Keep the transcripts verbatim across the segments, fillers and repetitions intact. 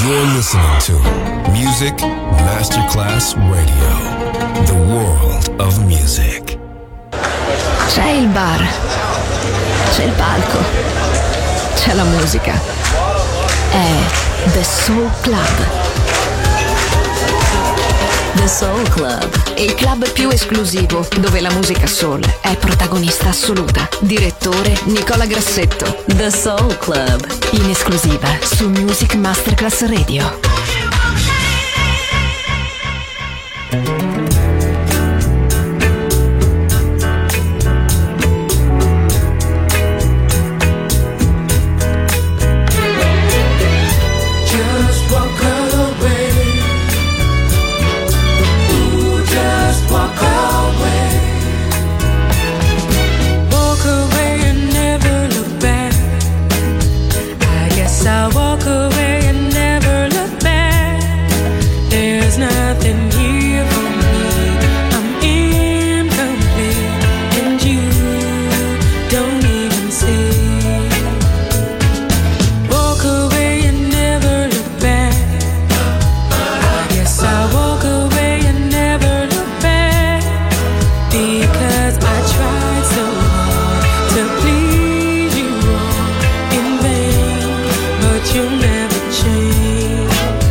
You're listening to Music Masterclass Radio, the world of music. C'è il bar, c'è il palco, c'è la musica. È The Soul Club. The Soul Club, il club più esclusivo dove la musica soul è protagonista assoluta. Direttore Nicola Grassetto. The Soul Club, in esclusiva su Music Masterclass Radio. I walk away and never look back. There's nothing here for me. I'm incomplete, and you don't even see. Walk away and never look back. I guess I walk away and never look back, because I tried so hard to please you all in vain, but you'll never change.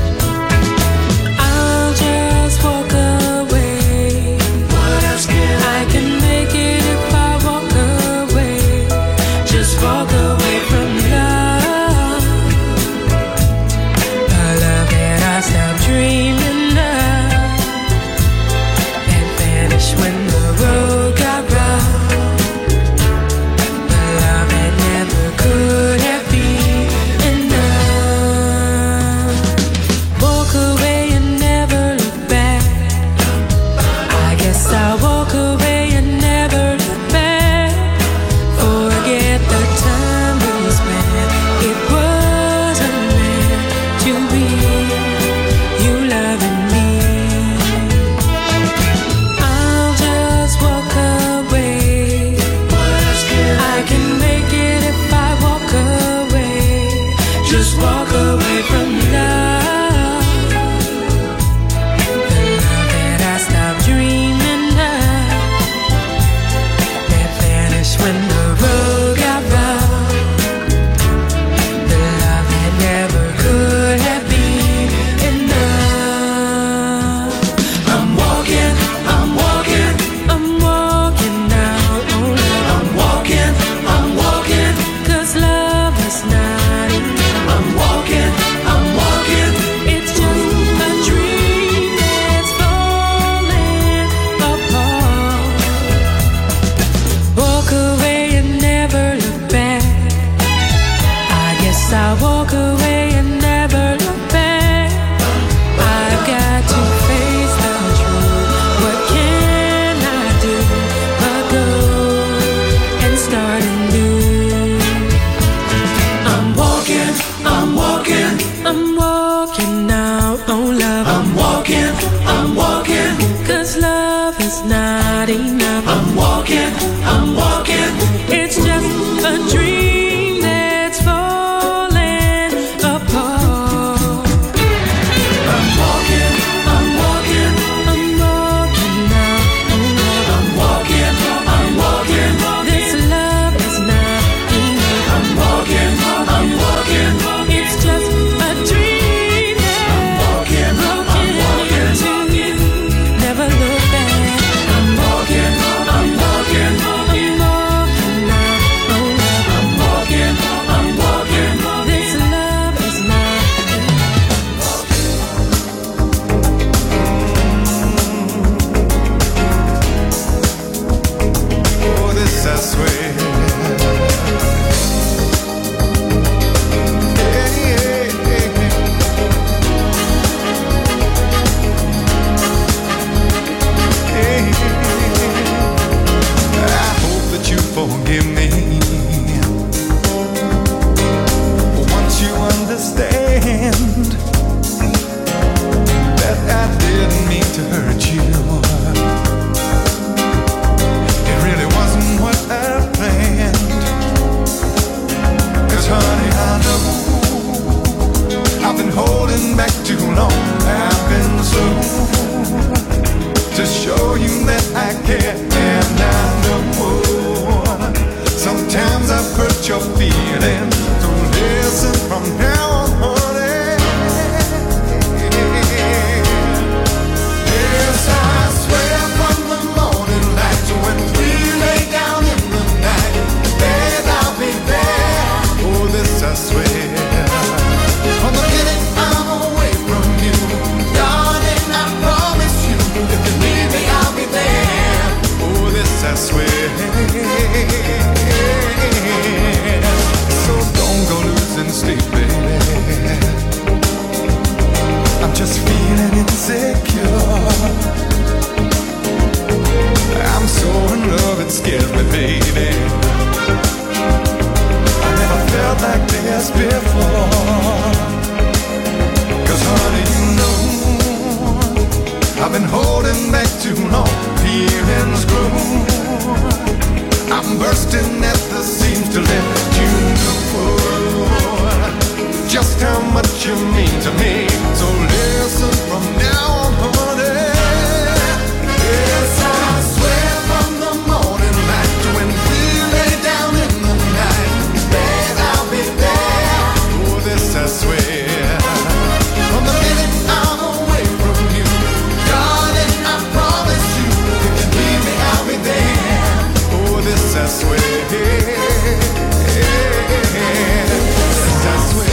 I'll just walk away. What else can I I can make it if I walk away. Just walk away from love, a love that I stopped dreaming of, and vanished when the road got rough. The love that never could have been enough. Walk away and never look back. I guess I'll walk away and never look back. Forget the time we spent. It wasn't meant to be. You loving me. I'll just walk away. I can make it if I walk away. Just walk away from love, the love that I stopped dreaming of, that vanished when the road got rough. The love that never could have been enough. I'm walking, I'm walking, I'm walking now. Oh, love. I'm walking, I'm walking, 'cause love is not enough. I'm walking, I'm walking. It's just a dream that's falling apart. Walk away and never look back. I guess I'll walk away and never look back. I've got to face the truth. What can I do but go and start anew? I'm walking, I'm walking, I'm walking now, oh love. I'm walking, I'm walking, 'cause love is not enough. I'm walking, I'm walking, it's just a dream that's falling apart. just feeling insecure. I'm so in love, it scares me, baby. I never felt like this before. Cause honey, you know I've been holding back too long. Feelings grow. I'm bursting at the seams to let you know just how much you mean to me. So listen from now on, honey. Yes, I swear from the morning light to when we lay down in the night, babe, I'll be there. Oh, this I swear. From the minute I'm away from you, darling, I promise you, if you need me, I'll be there. Oh, this I swear. This I swear.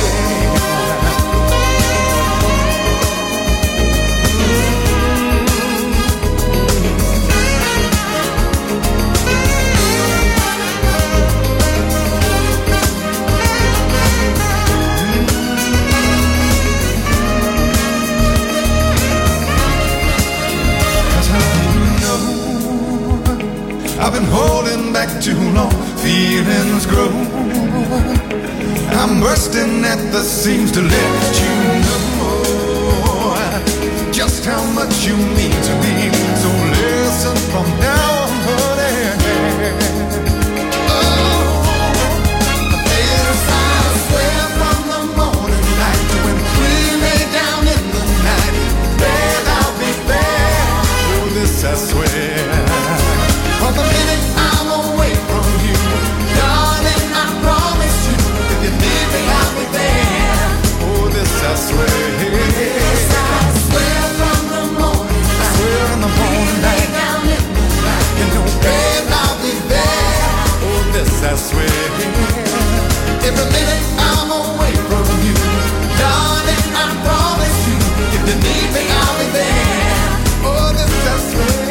I've been holding back too long, feelings grow. I'm bursting at the seams to let you know just how much you mean to me. So listen from now on, honey. Oh, yes, I swear from the morning light to when we lay down in the night, babe, I'll be there. Oh, this I swear. From the minute I'm away from you, darling, I promise you, if you need me, I'll be there. Oh, this I swear. Yes, I swear from the morning light. I swear in the morning light. Down in the night. You know, babe, I'll be there. Oh, this I swear. Every minute I'm away from you, darling, I promise you, if you need me, I'll be there. Oh, this I swear.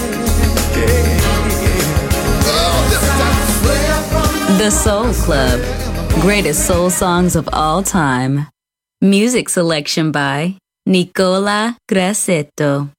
The Soul Club. Greatest soul songs of all time. Music selection by Nicola Grassetto.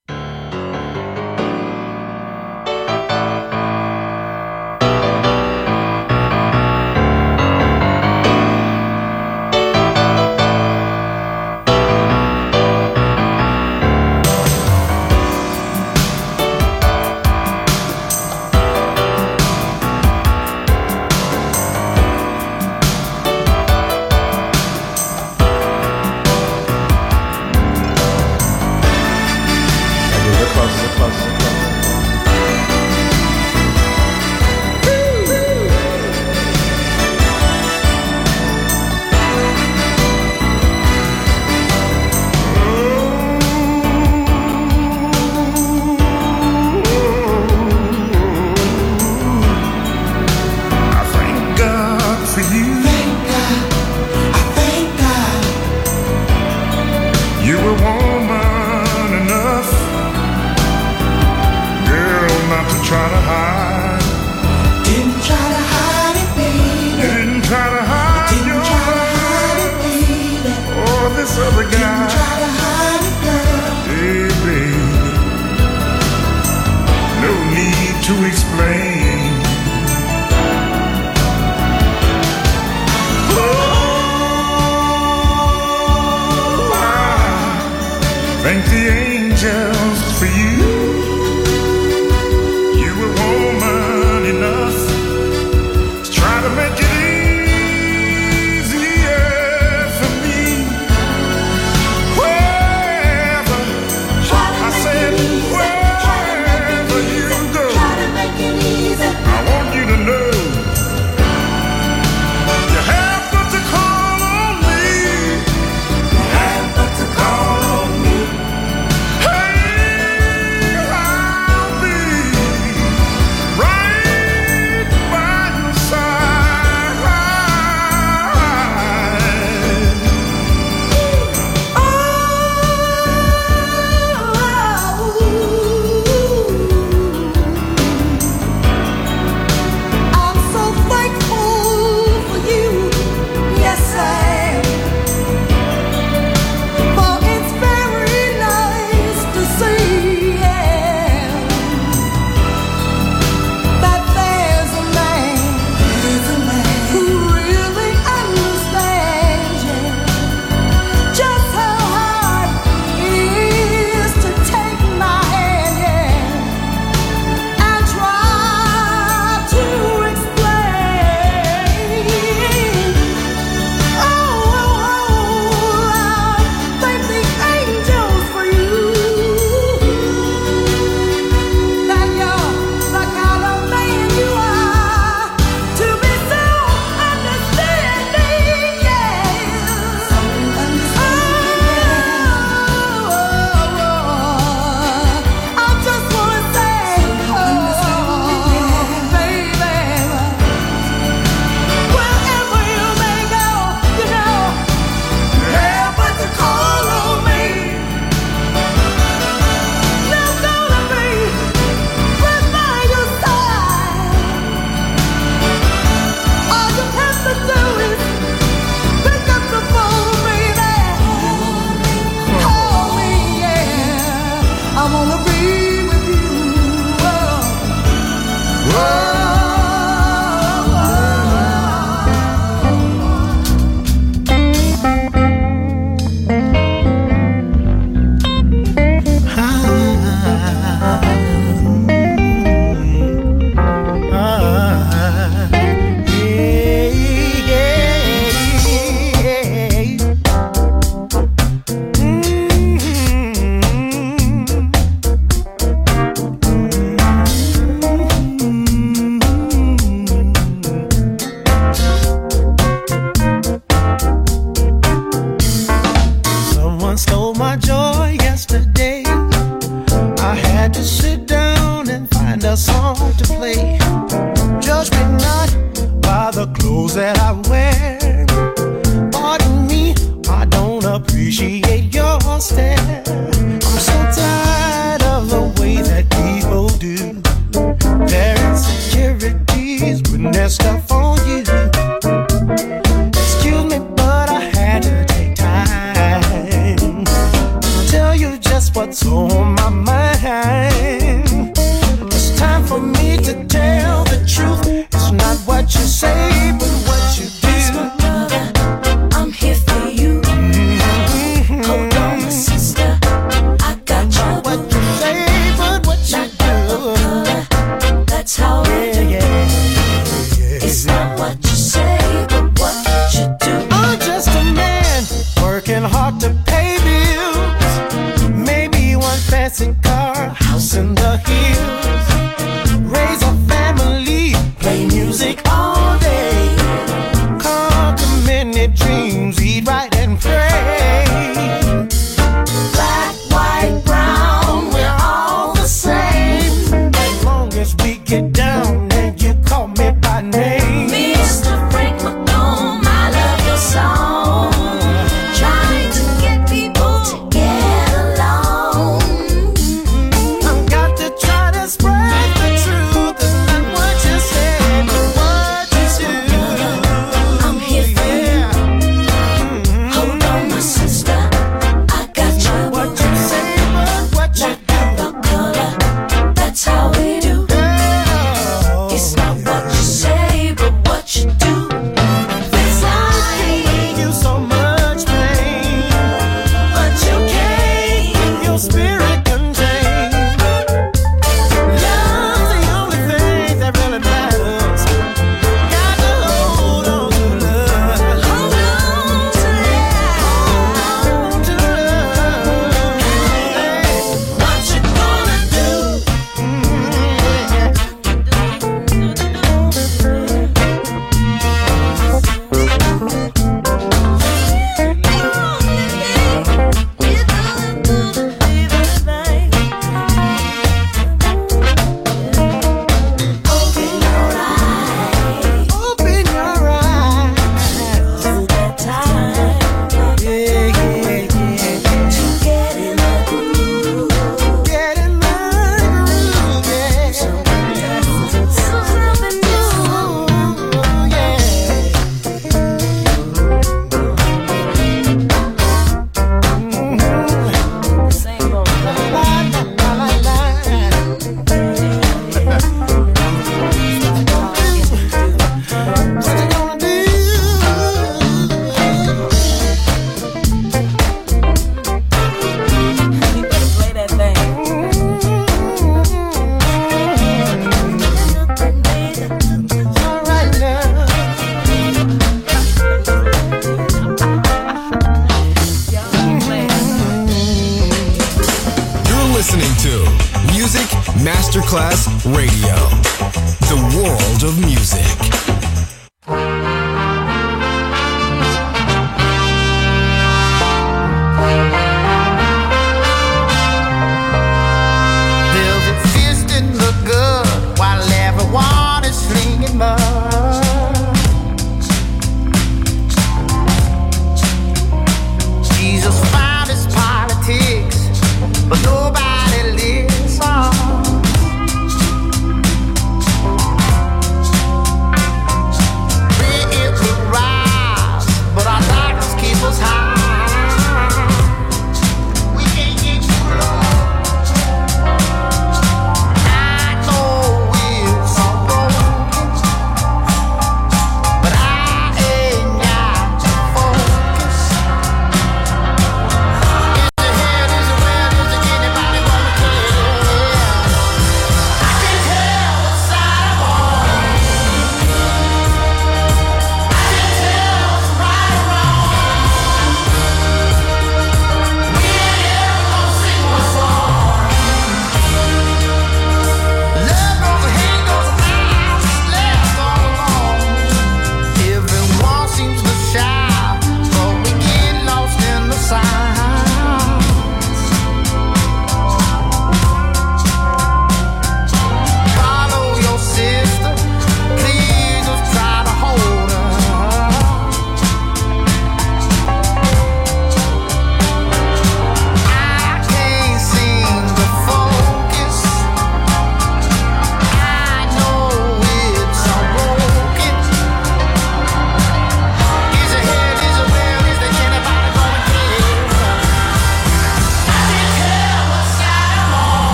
Hey! appreciate your stare. I'm so tired of the way that people do. Their insecurities putting their stuff on you. Excuse me, but I had to take time to tell you just what's on my mind. It's time for me to tell the truth. It's not what you say, but what you do. I'm here for you. Mm-hmm. Hold on, my sister. I got you. Not what you say, but what you do. That's how we do. Yeah, yeah. It's not what you say, but what you do. I'm just a man working hard to pay bills. Maybe one fancy car, house in the hills. Raise a family, play music all day. Conquer many dreams, eat right and pray. Black, white, brown, we're all the same. As long as we get down and you call me by name. Mister Frank McComb, I love your song. Trying to get people to get along. I've got to try to spread the truth. It's not what you say, but what you do. I'm here for you. Hold on, my sister. I got you. What you say, but what you Black, about color. That's how we do. do. It's not what you say, but what you do. It's like, You so much pain, but you can't. your spirit contained. Love's the only thing that really matters. Got to hold on to love. Hold on to Hold on to love. that. What you gonna do? Open your eyes. Open your eyes. Time Yeah, yeah, yeah. to get in the groove. Get in the groove, yeah. Something new. Ooh, yeah. Same old. La, la, la, la, la. What you gonna do? You better play that All right now. You're listening to Music Masterclass Radio, the world of music. Velvet fish didn't look good while everyone is slinging mud. Jesus found his politics, but nobody listens.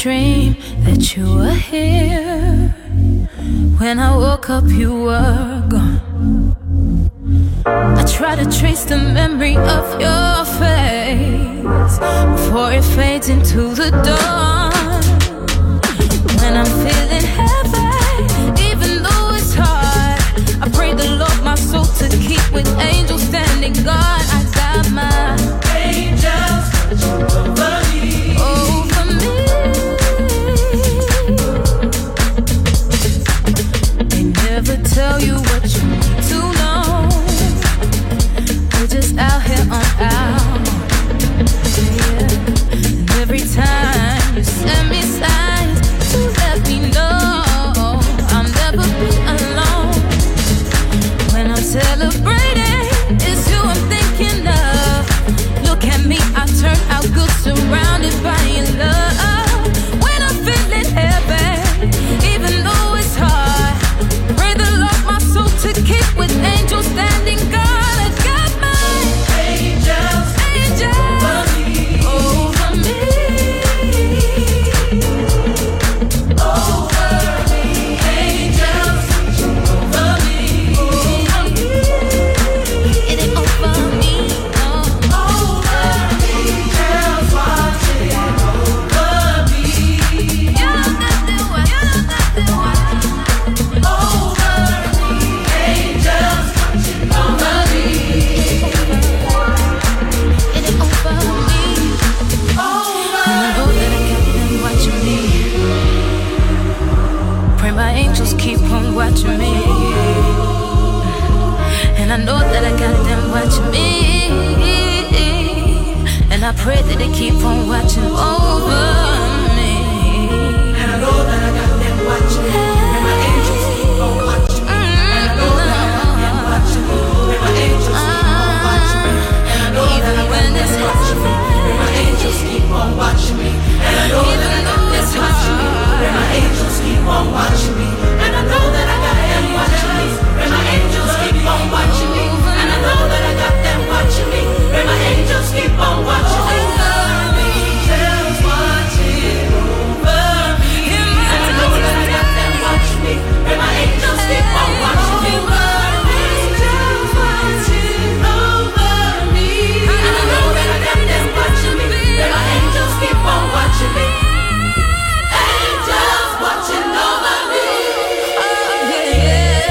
dream that you were here. When I woke up, you were gone. I try to trace the memory of your face before it fades into the dawn. When I'm feeling heavy, even though it's hard, I pray the Lord my soul to keep with angels standing guard. I got my angels over me, over me. They never tell you what you need to know. We're just out here on our own. Yeah. And every time you send me signs to let me know I'll never be alone. When I'm celebrating, it's you I'm thinking of. Look at me, I turn out good, surrounded by your love. When I'm feeling heavy, even though it's hard, pray the Lord my soul to keep with angels standing guard. I got my angels, angels over me, over me, over me, angels over me, over me. It ain't over me, no. Over me, angels watching over me. You know that they watch, you know that they watch. Over me, angels watching over me. It ain't over me. And I know that I got them watching me. Pray my angels keep on watching me. And I know that I got them watching me. And I pray that they keep on watching over me. And I know that I got them watching me. And my angels keep on watching me. And I know that I got them watching me. And my angels keep on watching me. And I know that I got them watching me. And my angels keep on watching me. And I know that I got them watching me. And my angels keep on watching me. And I know that I got them watching me. And my angels keep on watching me. And I know that I got them watching me. And my angels keep on watching me. Angels watching over me. And I know that I got them watching me. And my angels keep on watching me. Angels watching over me. And I know that I got them watching me. And my angels keep on watching me. Angels watching over me. Oh, yeah,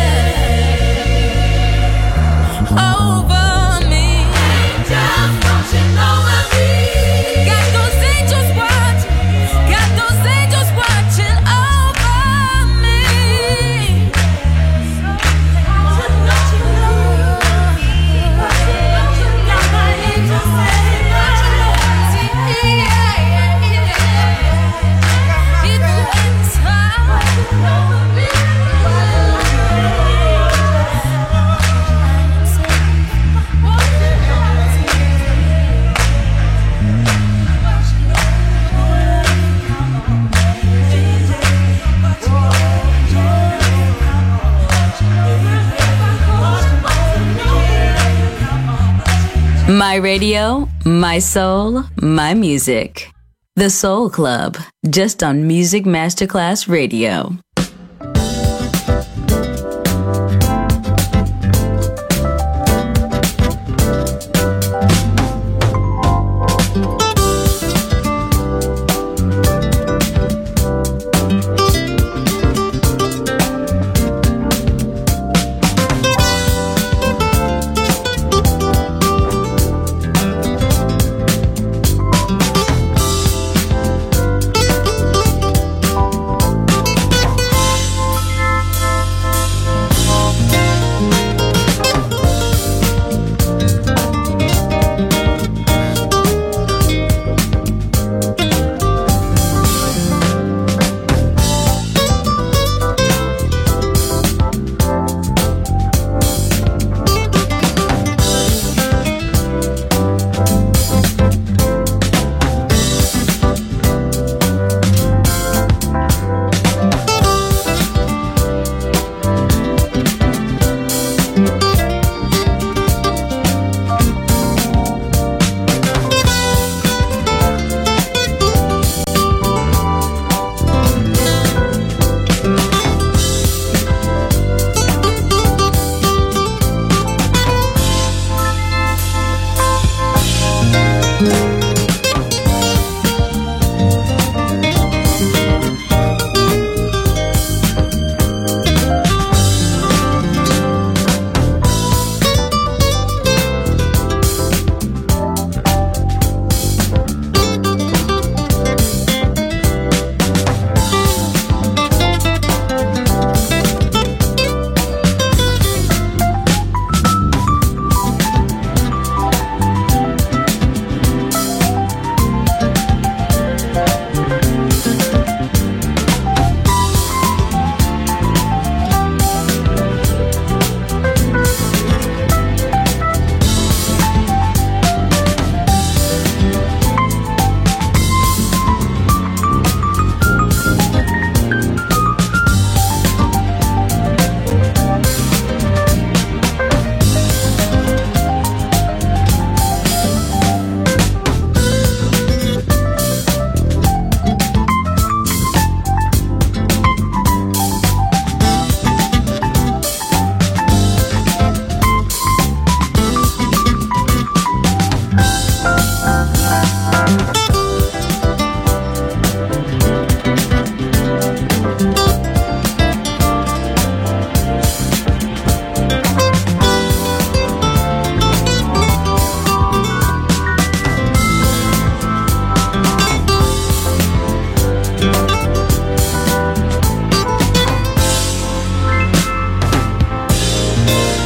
yeah. Over me. Angels watching over me. Got those angels watching. Got those angels watching over me. Got my angels My radio, my soul, my music. The Soul Club, just on Music Masterclass Radio.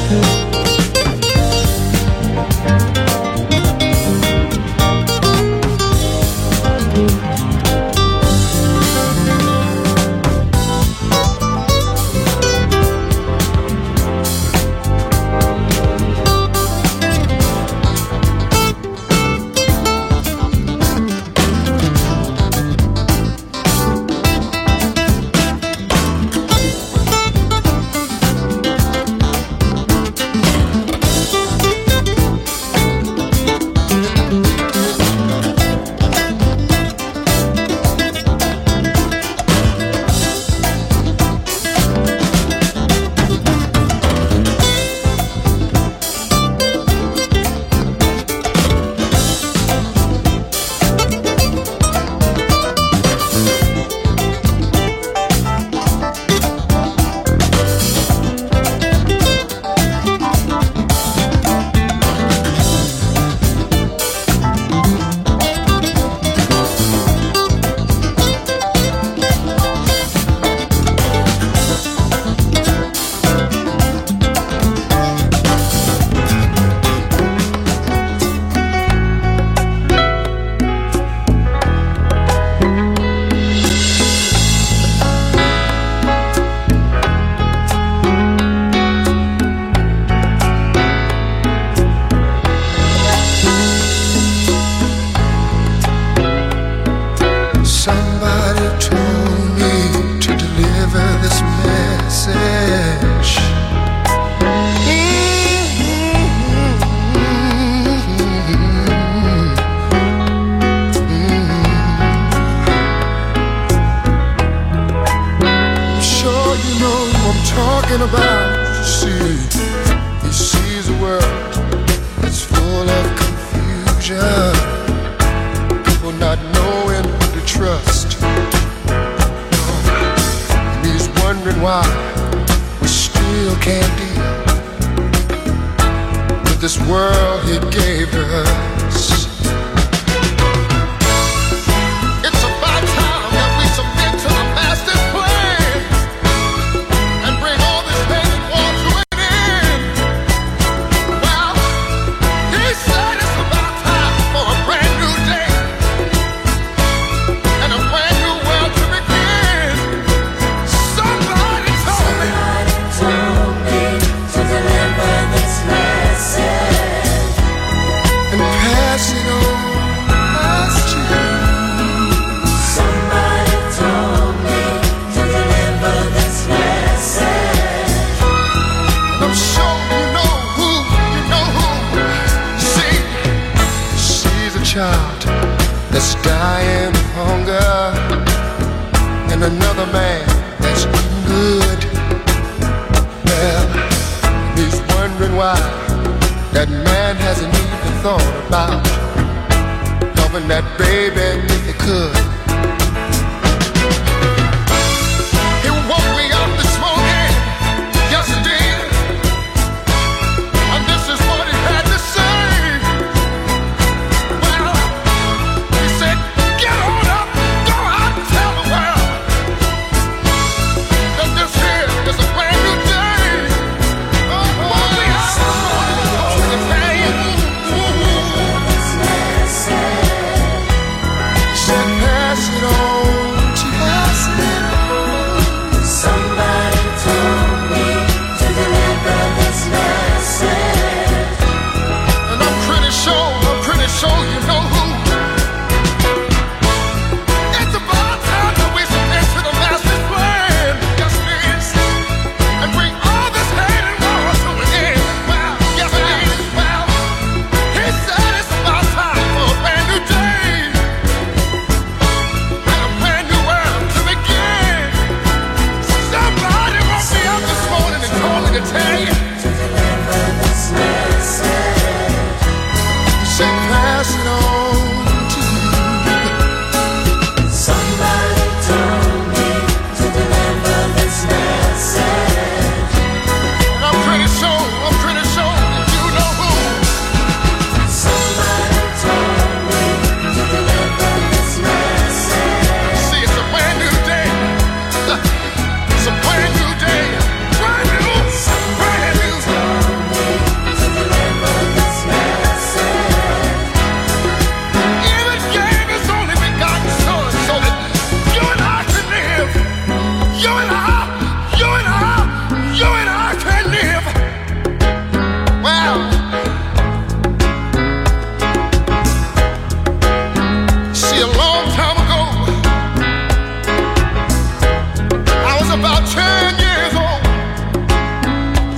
It's a brand new day, brand new, brand new.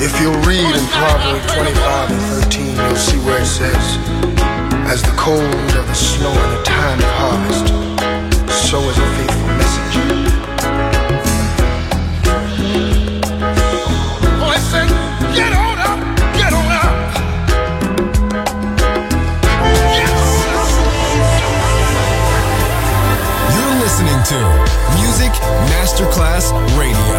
If you'll read in Proverbs twenty-five and thirteen, you'll see where it says, as the cold of the snow in the time of harvest, so is a faithful message. Boy, say, get on up, get on up. Yes. You're listening to Music Masterclass Radio.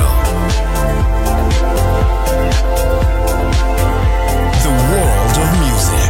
The world of music.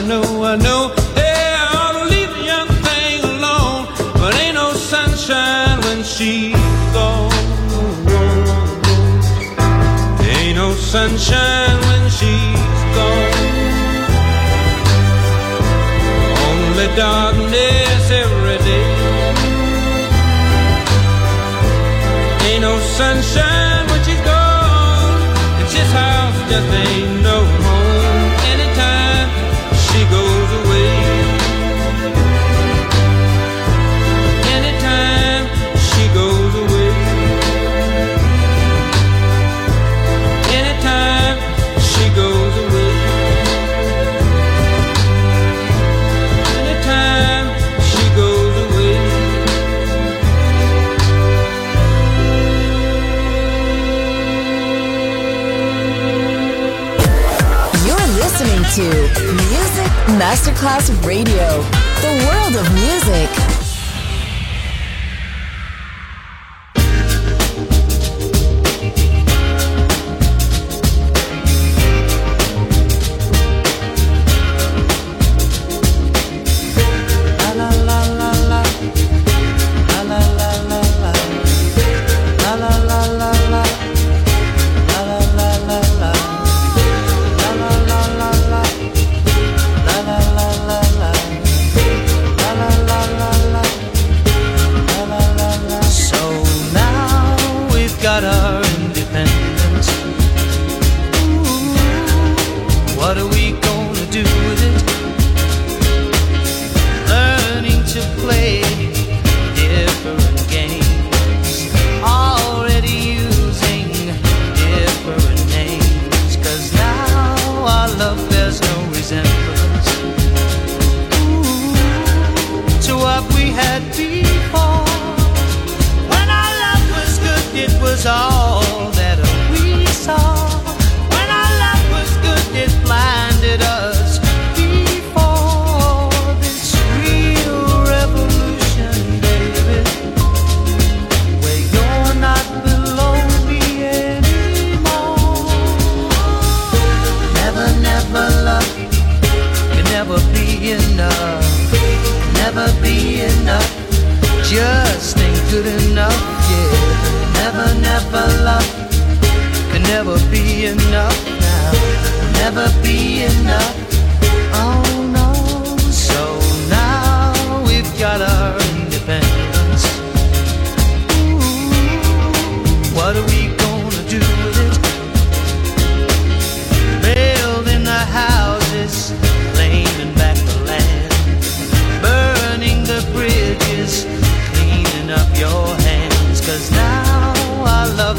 I know, I know. Hey, I ought to leave the young thing alone, but ain't no sunshine when she's gone. Ain't no sunshine when she's gone. Only darkness every day. Ain't no sunshine when she's gone, and this house just ain't no home anytime she goes away. Anytime she goes away. Anytime she goes away. Anytime Masterclass Radio, the world of music.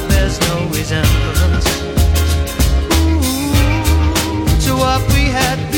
To what we had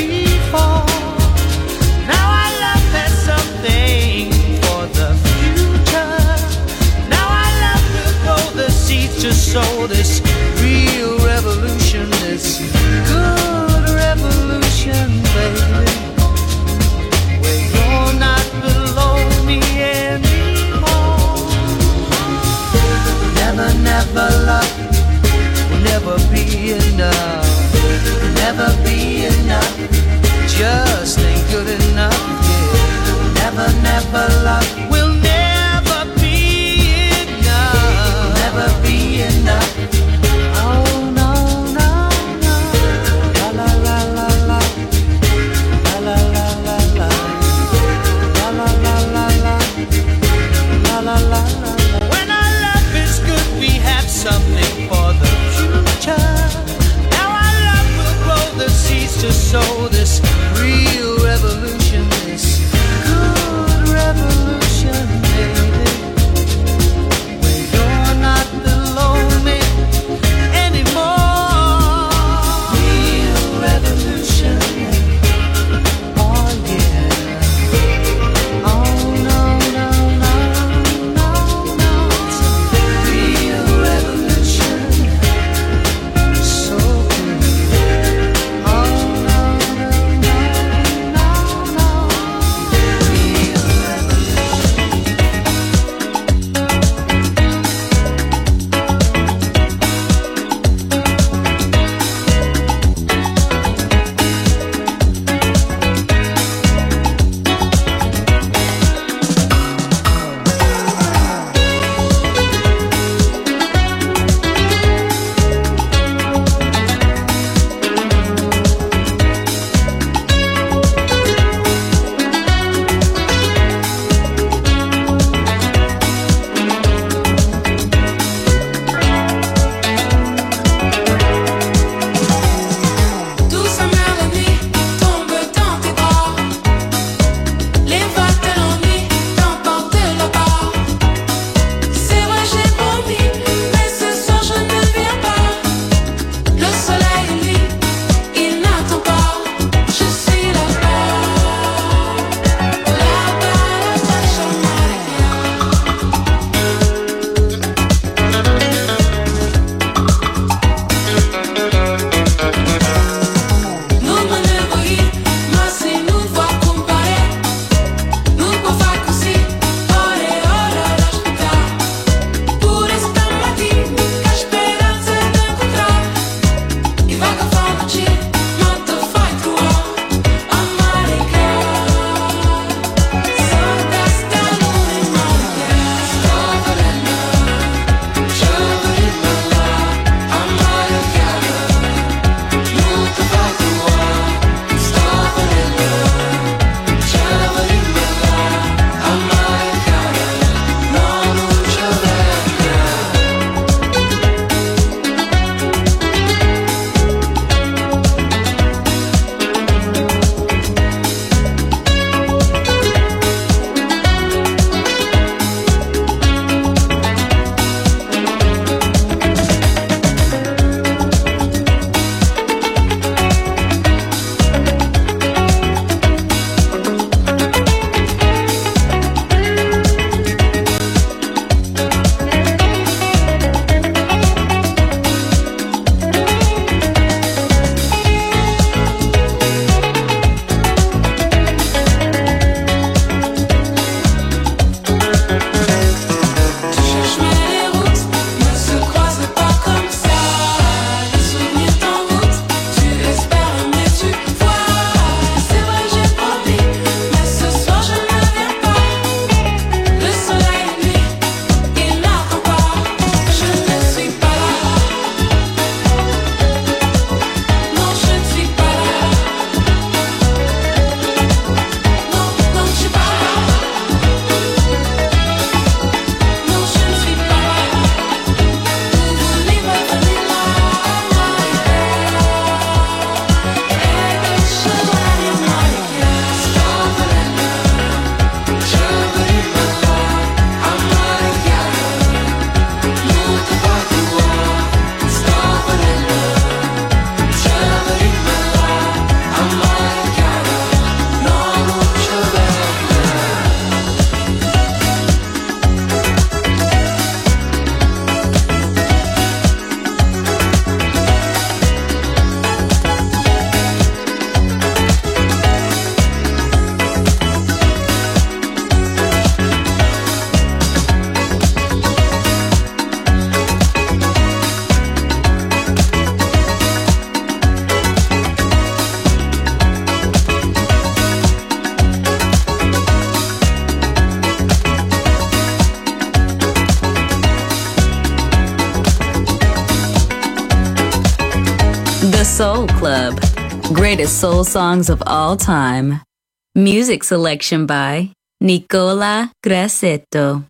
Soul Club. Greatest soul songs of all time. Music selection by Nicola Grassetto.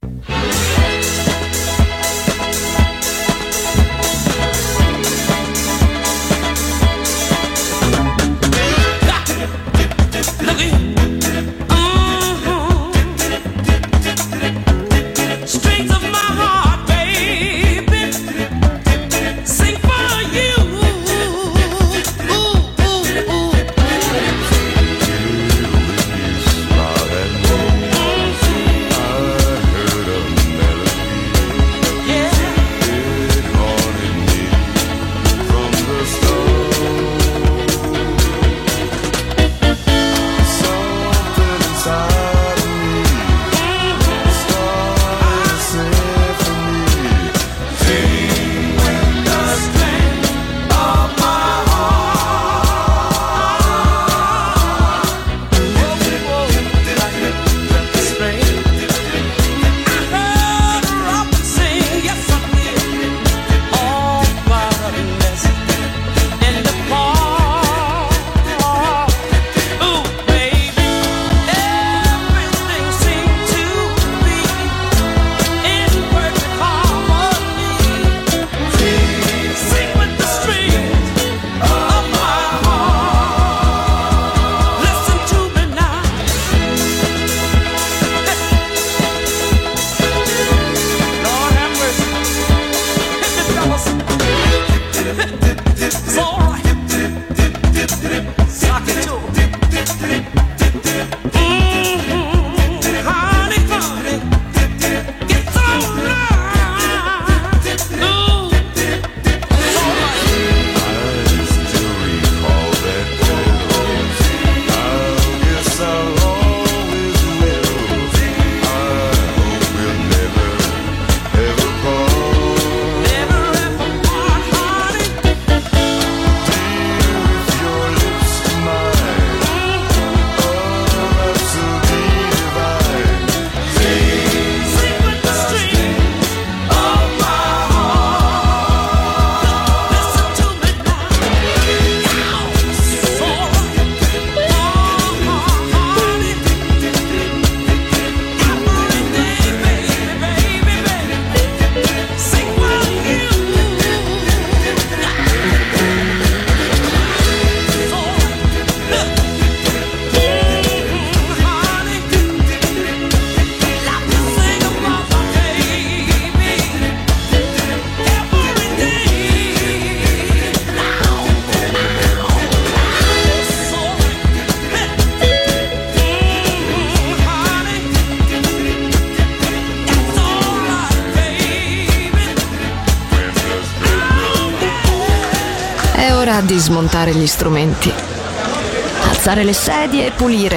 Di smontare gli strumenti, alzare le sedie e pulire.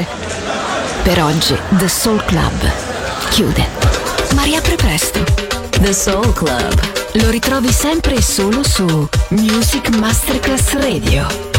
Per oggi The Soul Club chiude, ma riapre presto. The Soul Club lo ritrovi sempre e solo su Music Masterclass Radio.